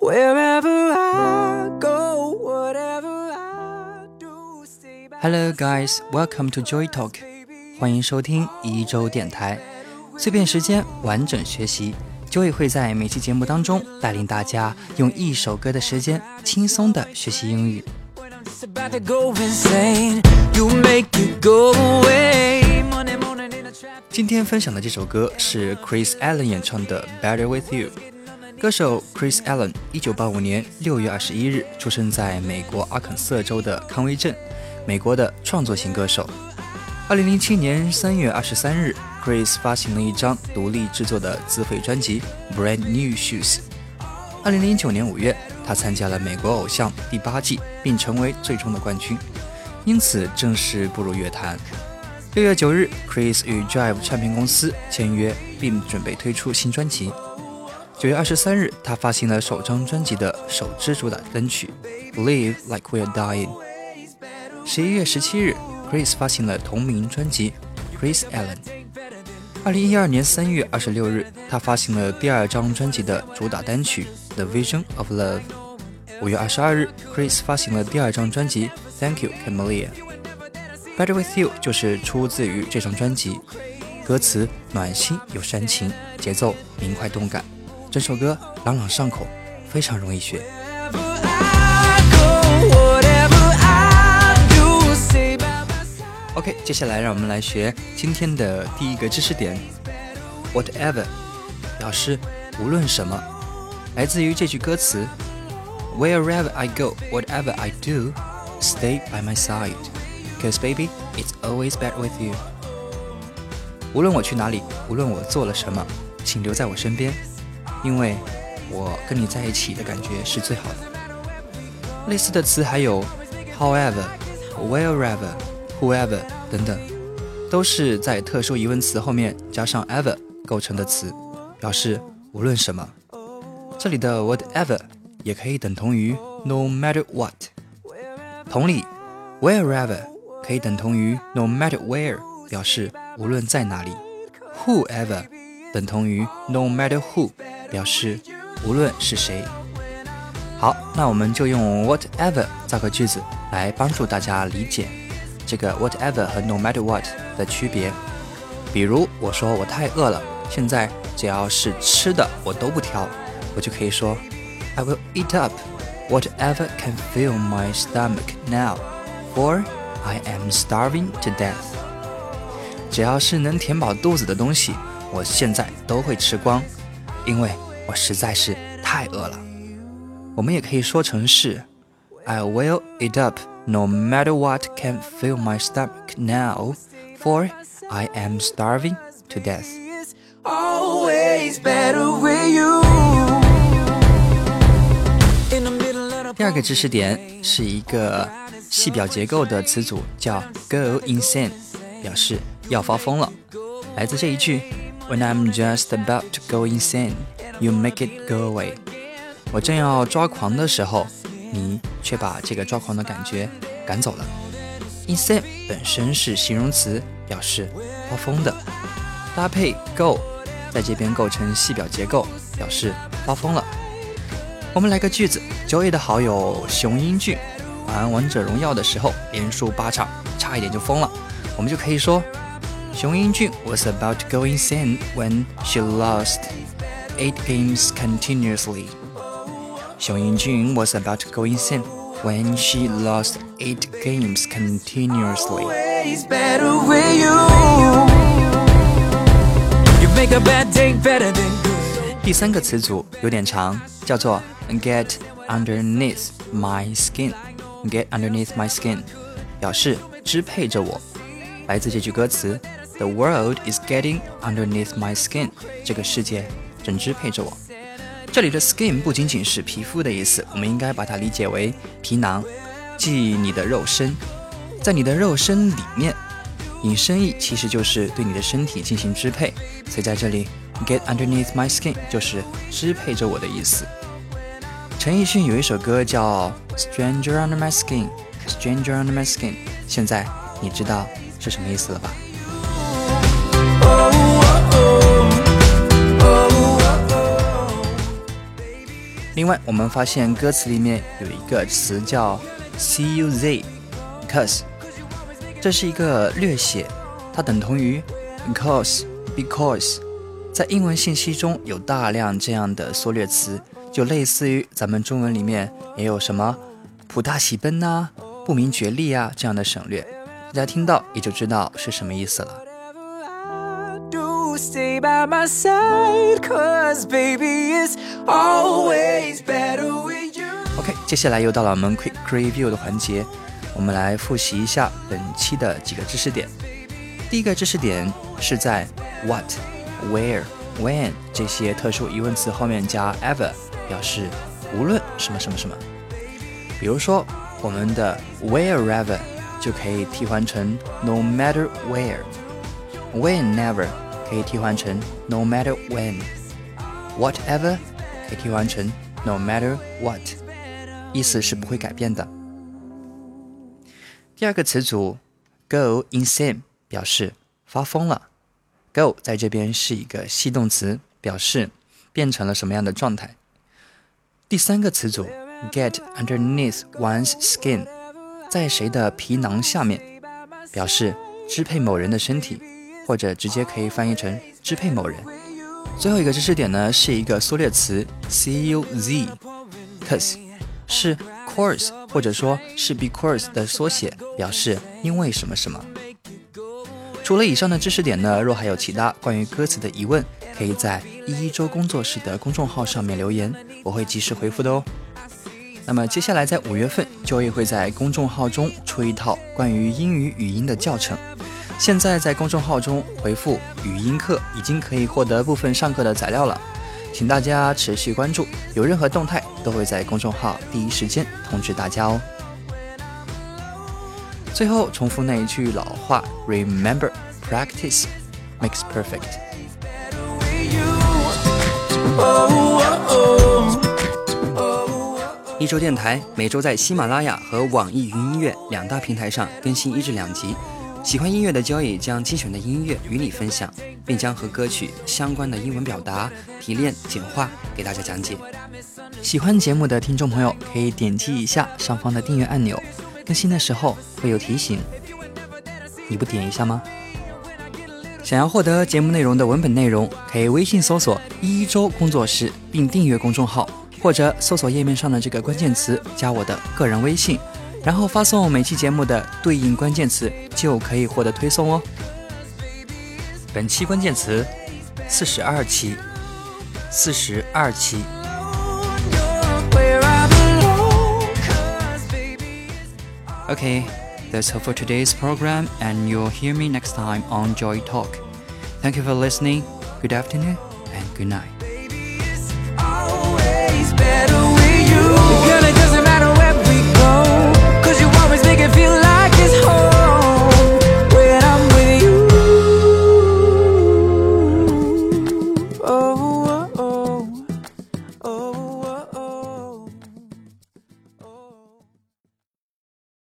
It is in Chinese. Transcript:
Wherever I go, whatever I do, stay by Hello guys, welcome to Joy Talk， 欢迎收听一周电台，碎片时间完整学习。Joy 会在每期节目当中带领大家用一首歌的时间轻松的学习英语。 about to go insane. You make it go away. Monday morning in a trap. 今天分享的这首歌是 Chris Allen 演唱的 Better With You。歌手 Chris Allen 1985年6月21日出生在美国阿肯色州的康威镇，美国的创作型歌手。2007年3月23日 Chris 发行了一张独立制作的自费专辑 Brand New Shoes。 2009年5月他参加了美国偶像第8季并成为最终的冠军，因此正式步入乐坛。6月9日 Chris 与 Jive 唱片公司签约并准备推出新专辑。9月23日他发行了首张专辑的首支主打单曲 Live Like We're Dying。 11月17日 Chris 发行了同名专辑 Chris Allen。 2012年3月26日他发行了第二张专辑的主打单曲 The Vision of Love。 5月22日 Chris 发行了第二张专辑 Thank You Camellia。 Better With You 就是出自于这张专辑，歌词暖心又煽情，节奏明快动感，整首歌朗朗上口，非常容易学。 OK， 接下来让我们来学今天的第一个知识点 Whatever 表示无论什么，来自于这句歌词 Wherever I go, whatever I do, stay by my side, cause baby, it's always better with you。 无论我去哪里，无论我做了什么，请留在我身边，因为我跟你在一起的感觉是最好的。类似的词还有 however, wherever, whoever 等等，都是在特殊疑问词后面加上 ever 构成的词，表示无论什么。这里的 whatever 也可以等同于 no matter what。 同理 wherever 可以等同于 no matter where， 表示无论在哪里。 whoever 等同于 no matter who， 表示无论是谁。好，那我们就用 whatever 造个句子来帮助大家理解这个 whatever 和 no matter what 的区别。比如我说我太饿了，现在只要是吃的我都不挑，我就可以说 I will eat up whatever can fill my stomach now, for I am starving to death。 只要是能填饱肚子的东西，我现在都会吃光，因为我实在是太饿了。我们也可以说成是 I will eat up no matter what can fill my stomach now, for I am starving to death。 Always better with you. In the middle of the 第二个知识点是一个细表结构的词组，叫 go insane， 表示要发疯了。来自这一句 When I'm just about to go insane, you make it go away。 我正要抓狂的时候，你却把这个抓狂的感觉赶走了。 insane 本身是形容词，表示发疯的，搭配 go 在这边构成细表结构，表示发疯了。我们来个句子， Joey 的好友熊英俊玩王者荣耀的时候连输8场，差一点就疯了。我们就可以说熊英俊 was about to go insane when she lost 8 games continuously。 熊英俊 was about to go insane when she lost 8 games continuously。 always better with you. You make a bad day better than good. 第三个词组有点长，叫做 get underneath my skin。 get underneath my skin 表示支配着我，来自这句歌词 The world is getting underneath my skin， 这个世界正支配着我。这里的 skin 不仅仅是皮肤的意思，我们应该把它理解为皮囊，即你的肉身。在你的肉身里面，引申义其实就是对你的身体进行支配，所以在这里 get underneath my skin 就是支配着我的意思。陈奕迅有一首歌叫 Stranger Under My Skin， Stranger Under My Skin， 现在你知道是什么意思了吧？另另外我们发现歌词里面有一个词叫 cuz， 这是一个略写，它等同于 because。在英文信息中有大量这样的缩略词，就类似于咱们中文里面也有什么普大喜奔啊、不明觉厉啊这样的省略，大家听到也就知道是什么意思了。OK， 接下来又到了我们 Quick Review 的环节，我们来复习一下本期的几个知识点。第一个知识点是在 What、Where、When 这些特殊疑问词后面加 ever， 表示无论什么什么什么。比如说我们的 wherever 就可以替换成 no matter where，whenever 可以替换成 no matter when，whatever 可以替换成 no matter what， 意思是不会改变的。第二个词组 go insane 表示发疯了， go 在这边是一个系动词，表示变成了什么样的状态。第三个词组 get underneath one's skin， 在谁的皮囊下面，表示支配某人的身体，或者直接可以翻译成支配某人。最后一个知识点呢，是一个缩略词 cuz， 是 course 或者说是 because 的缩写，表示因为什么什么。除了以上的知识点呢，若还有其他关于歌词的疑问，可以在一周工作室的公众号上面留言，我会及时回复的哦。那么接下来在5月份，Joey会在公众号中出一套关于英语语音的教程。现在在公众号中回复语音课，已经可以获得部分上课的材料了，请大家持续关注，有任何动态都会在公众号第一时间通知大家哦。最后重复那一句老话 Remember, practice makes perfect。 一周电台每周在喜马拉雅和网易云音乐2大平台上更新1至2集。喜欢音乐的Joey将精选的音乐与你分享，并将和歌曲相关的英文表达提炼简化给大家讲解。 喜欢节目的听众朋友可以点击一下上方的订阅按钮，更新的时候会有提醒，你不点一下吗？想要获得节目内容的文本内容，可以微信搜索一周工作室并订阅公众号，或者搜索页面上的这个关键词加我的个人微信，然后发送每期节目的对应关键词，就可以获得推送哦。本期关键词42期，42期。Okay, that's all for today's program, and you'll hear me next time on Joy Talk. Thank you for listening. Good afternoon and good night.